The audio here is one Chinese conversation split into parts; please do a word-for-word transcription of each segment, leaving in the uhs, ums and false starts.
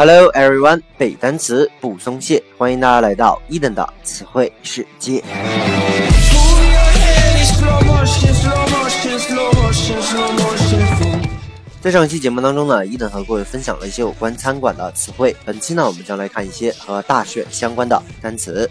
Hello everyone， 背单词不松懈，欢迎大家来到伊登的词汇世界。在上期节目当中呢，伊登和各位分享了一些有关餐馆的词汇。本期呢，我们将来看一些和大选相关的单词。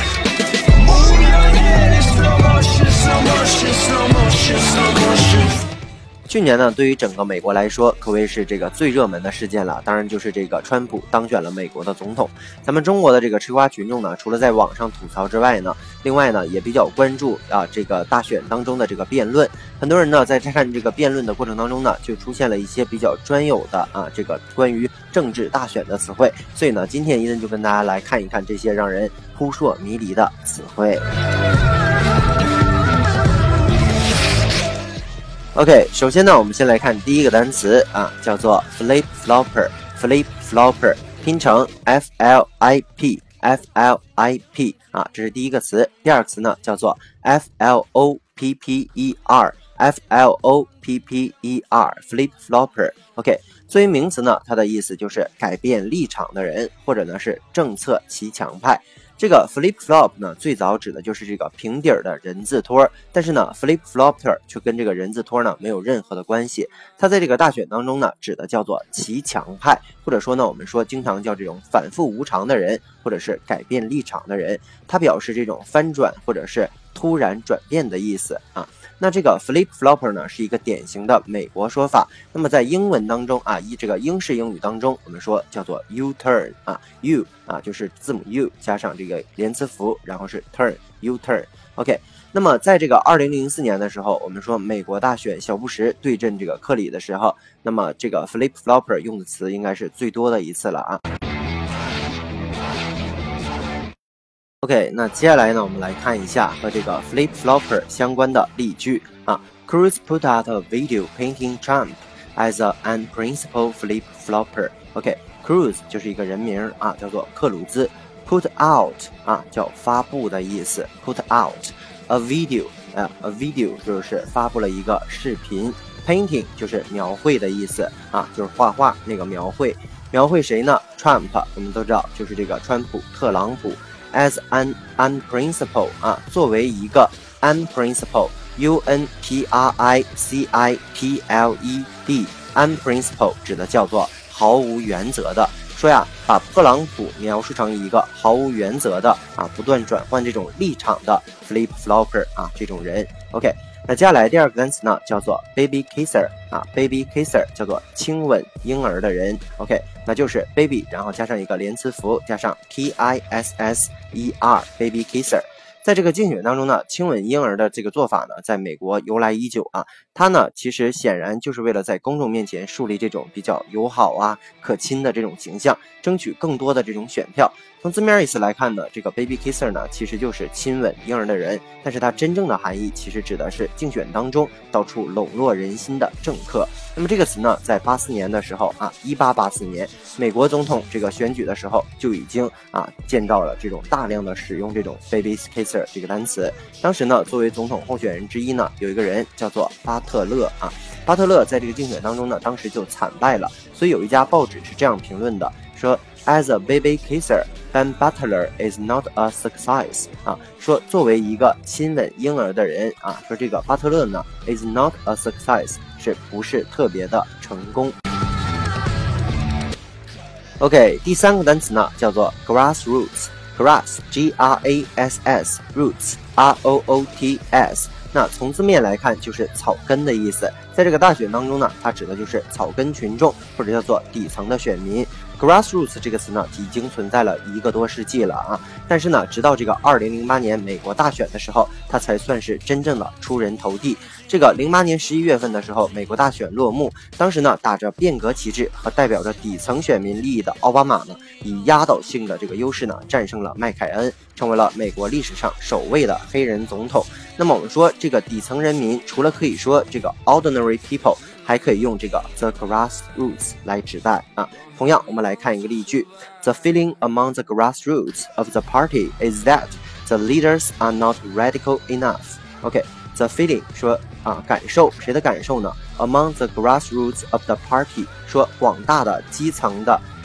去年呢，对于整个美国来说，可谓是这个最热门的事件了。当然就是这个川普当选了美国的总统。咱们中国的这个吃瓜群众呢，除了在网上吐槽之外呢，另外呢也比较关注啊这个大选当中的这个辩论。很多人呢在看这个辩论的过程当中呢，就出现了一些比较专有的啊这个关于政治大选的词汇。所以呢，今天伊登就跟大家来看一看这些让人扑朔迷离的词汇。OK， 首先呢，我们先来看第一个单词啊，叫做 flip flopper。flip flopper 拼成 F L I P F L I P 啊，这是第一个词。第二个词呢，叫做 F L O P P E R F L O P P E R flip flopper。OK， 作为名词呢，它的意思就是改变立场的人，或者呢是政策骑墙派。这个 flip flop 呢，最早指的就是这个平底儿的人字拖，但是呢 flip flopper 却跟这个人字拖呢没有任何的关系。它在这个大选当中呢，指的叫做骑墙派，或者说呢，我们说经常叫这种反复无常的人，或者是改变立场的人，它表示这种翻转或者是突然转变的意思啊。那这个 flip flopper 呢，是一个典型的美国说法。那么在英文当中啊，以这个英式英语当中，我们说叫做 U turn 啊 ，U 啊就是字母 U 加上这个连词符，然后是 turn U turn。OK， 那么在这个二零零四年的时候，我们说美国大选小布什对阵这个克里的时候，那么这个 flip flopper 用的词应该是最多的一次了啊。OK， 那接下来呢，我们来看一下和这个 flip flopper 相关的例句啊。Cruz put out a video painting Trump as a unprincipled flip flopper。OK，Cruz 就是一个人名啊，叫做克鲁兹。Put out 啊，叫发布的意思。Put out a video 啊 ，a video 就是发布了一个视频。Painting 就是描绘的意思啊，就是画画那个描绘。描绘谁呢 ？Trump， 我们都知道就是这个川普，特朗普。As an unprincipled 啊，作为一个 unprincipled U N P R I C I P L E D unprincipled 指的叫做毫无原则的。说呀，把特朗普描述成一个毫无原则的啊，不断转换这种立场的 flip flopper 啊，这种人。OK， 那接下来第二个单词呢，叫做 baby kisser 啊 ，baby kisser 叫做亲吻婴儿的人。OK， 那就是 baby， 然后加上一个连词符，加上 K I S S E R baby kisser。在这个竞选当中呢，亲吻婴儿的这个做法呢，在美国由来已久啊。它呢，其实显然就是为了在公众面前树立这种比较友好啊、可亲的这种形象，争取更多的这种选票。从字面意思来看呢，这个 baby kisser 呢，其实就是亲吻婴儿的人，但是它真正的含义其实指的是竞选当中到处笼络人心的政客。那么这个词呢，在八四年的时候啊，一八八四年美国总统这个选举的时候就已经啊见到了这种大量的使用这种 baby kisser 这个单词。当时呢，作为总统候选人之一呢，有一个人叫做巴特勒啊。巴特勒在这个竞选当中呢，当时就惨败了，所以有一家报纸是这样评论的，说 As a baby kisser，Ben Butler is not a success 啊，说作为一个亲吻婴儿的人啊，说这个巴特勒呢 is not a success， 是不是特别的成功。OK， 第三个单词呢叫做 grassroots。Grass G R A S S Roots R O O T S， 那从字面来看就是草根的意思。在这个大选当中呢，它指的就是草根群众，或者叫做底层的选民。Grassroots 这个词呢，已经存在了一个多世纪了啊，但是呢，直到这个二零零八年美国大选的时候，它才算是真正的出人头地。这个零八年十一月份的时候，美国大选落幕，当时呢，打着变革旗帜和代表着底层选民利益的奥巴马呢，以压倒性的这个优势呢，战胜了麦凯恩，成为了美国历史上首位的黑人总统。那么我们说，这个底层人民除了可以说这个 ordinary people， 还可以用这个 the grassroots 来指代啊。同样，我们来看一个例句 ：The feeling among the grassroots of the party is that the leaders are not radical enough. OK，the feeling 说啊，感受谁的感受呢 ？Among the grassroots of the party 说广大的基层的这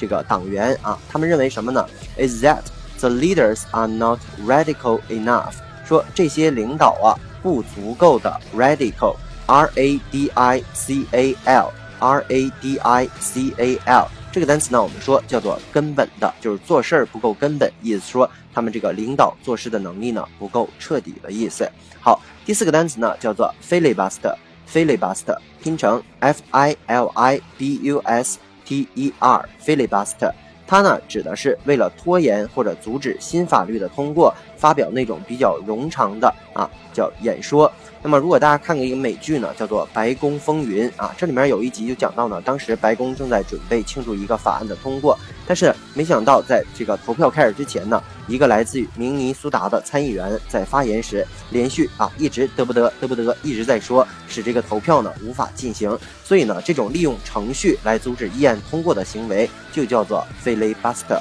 这个党员啊，他们认为什么呢 ？Is that the leaders are not radical enough？ 说这些领导啊不足够的 radical，R A D I C A L，R A D I C A L。这个单词呢，我们说叫做根本的，就是做事儿不够根本，意思说他们这个领导做事的能力呢不够彻底的意思。好，第四个单词呢叫做 filibuster，filibuster 拼成 F I L I B U S T E R，filibuster 它呢指的是为了拖延或者阻止新法律的通过，发表那种比较冗长的啊叫演说。那么如果大家看过一个美剧呢，叫做《白宫风云》啊，这里面有一集就讲到呢，当时白宫正在准备庆祝一个法案的通过，但是没想到在这个投票开始之前呢，一个来自于明尼苏达的参议员在发言时连续啊一直得不得得不得一直在说，使这个投票呢无法进行。所以呢，这种利用程序来阻止议案通过的行为就叫做 filibuster。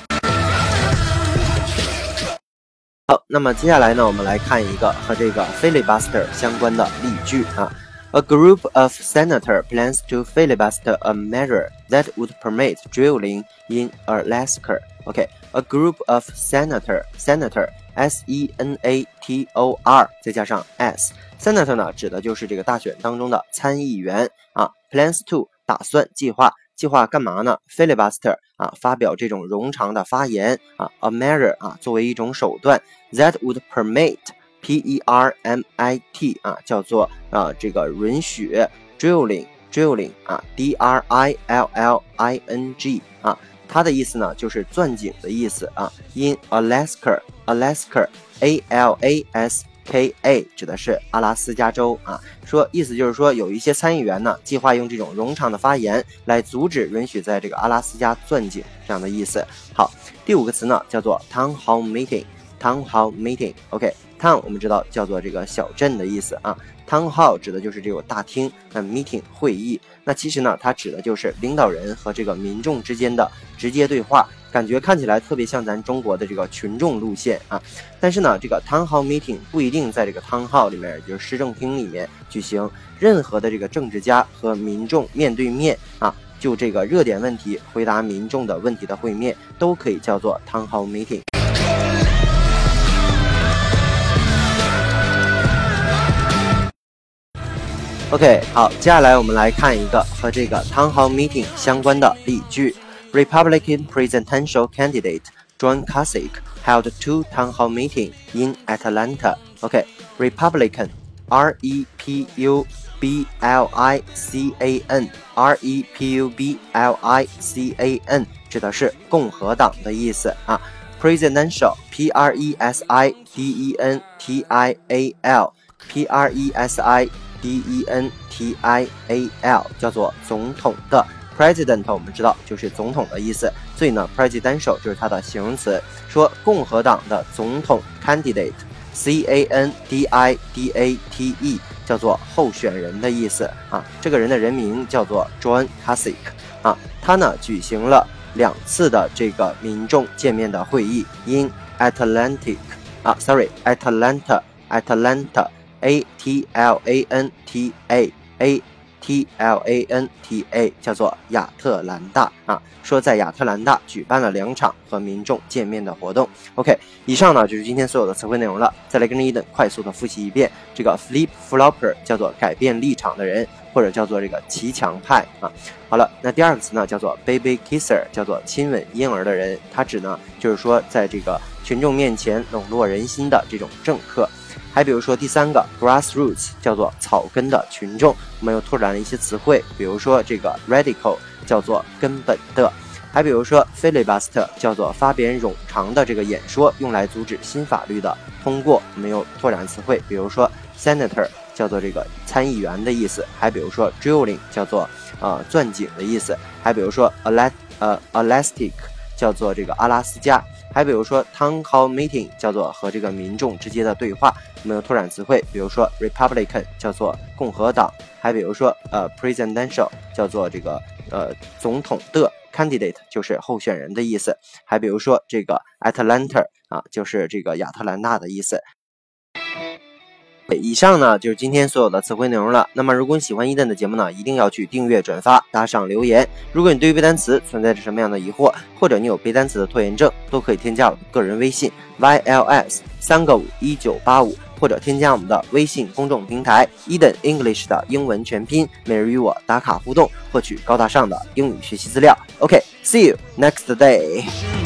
好，那么接下来呢，我们来看一个和这个 filibuster 相关的例句啊。A group of senators plans to filibuster a measure that would permit drilling in Alaska. OK, a group of senator, senator, S E N A T O R 再加上 s。senator 呢，指的就是这个大选当中的参议员啊。plans to 打算计划。计划干嘛呢 ？filibuster 啊，发表这种冗长的发言啊 ，a measure 啊，作为一种手段 that would permit P E R M I T 啊，叫做啊这个允许 drilling drilling 啊 D R I L L I N G 啊，它的意思呢就是钻井的意思啊 ，in Alaska Alaska A L A S K A 指的是阿拉斯加州啊，说意思就是说有一些参议员呢计划用这种冗长的发言来阻止允许在这个阿拉斯加钻井这样的意思。好，第五个词呢叫做 town hall meeting town hall meeting OK town 我们知道叫做这个小镇的意思啊 town hall 指的就是这个大厅，那 meeting 会议，那其实呢它指的就是领导人和这个民众之间的直接对话，感觉看起来特别像咱中国的这个群众路线啊，但是呢，这个 town hall meeting 不一定在这个 town hall 里面，就是市政厅里面举行，任何的这个政治家和民众面对面啊，就这个热点问题回答民众的问题的会面，都可以叫做 town hall meeting。OK， 好，接下来我们来看一个和这个 town hall meeting 相关的例句。Republican presidential candidate John Kasich held two town hall meetings in Atlanta. OK, Republican, R E P U B L I C A N, R E P U B L I C A N 指的是共和党的意思啊。Presidential, P R E S I D E N T I A L, P R E S I D E N T I A L 叫做总统的。President 我们知道就是总统的意思，所以呢 presidential 就是它的形容词，说共和党的总统 candidate C A N D I D A T E 叫做候选人的意思啊，这个人的人名叫做 John Kasich 啊，他呢举行了两次的这个民众见面的会议 in Atlantic 啊 sorry Atlanta Atlanta A T L A N T A A T L A N T A 叫做亚特兰大啊，说在亚特兰大举办了两场和民众见面的活动。OK， 以上呢就是今天所有的词汇内容了。再来跟着伊登快速的复习一遍，这个 flip flopper 叫做改变立场的人，或者叫做这个骑墙派啊。好了，那第二个词呢叫做 baby kisser， 叫做亲吻婴儿的人，它指呢就是说在这个群众面前笼络人心的这种政客。还比如说第三个 grassroots 叫做草根的群众，我们又拓展了一些词汇，比如说这个 radical 叫做根本的，还比如说 filibuster 叫做发表冗长的这个演说，用来阻止新法律的通过，我们又拓展词汇，比如说 senator 叫做这个参议员的意思，还比如说 drilling 叫做呃钻井的意思，还比如说 Ala 呃 elastic 叫做这个阿拉斯加，还比如说 town hall meeting 叫做和这个民众之间的对话，我们有拓展词汇，比如说 Republican 叫做共和党，还比如说呃 presidential 叫做这个呃总统的 candidate 就是候选人的意思，还比如说这个 Atlanta 啊就是这个亚特兰大的意思。 以上呢就是今天所有的词汇内容了。那么如果你喜欢伊登的节目呢，一定要去订阅、转发、打赏、留言。如果你对于背单词存在着什么样的疑惑，或者你有背单词的拖延症，都可以添加我的个人微信 Y L S 三个五一九八五，或者添加我们的微信公众平台 Eden English 的英文全拼，每日与我打卡互动，获取高大上的英语学习资料。OK，see you next day。